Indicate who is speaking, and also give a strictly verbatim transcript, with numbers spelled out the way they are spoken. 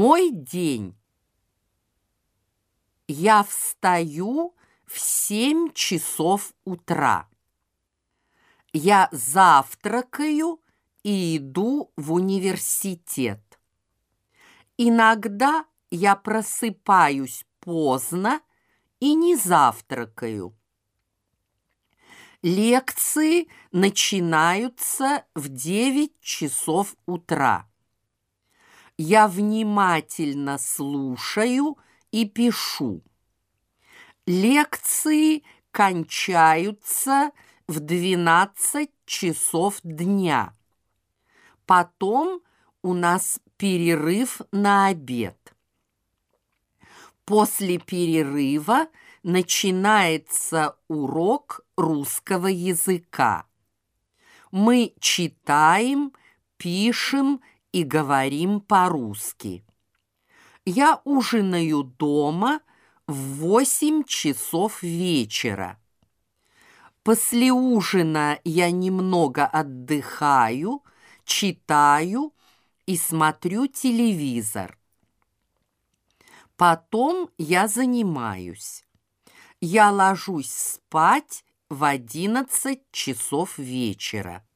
Speaker 1: Мой день. Я встаю в семь часов утра. Я завтракаю и иду в университет. Иногда я просыпаюсь поздно и не завтракаю. Лекции начинаются в девять часов утра. Я внимательно слушаю и пишу. Лекции кончаются в двенадцать часов дня. Потом у нас перерыв на обед. После перерыва начинается урок русского языка. Мы читаем, пишем и говорим по-русски. Я ужинаю дома в восемь часов вечера. После ужина я немного отдыхаю, читаю и смотрю телевизор. Потом я занимаюсь. Я ложусь спать в одиннадцать часов вечера.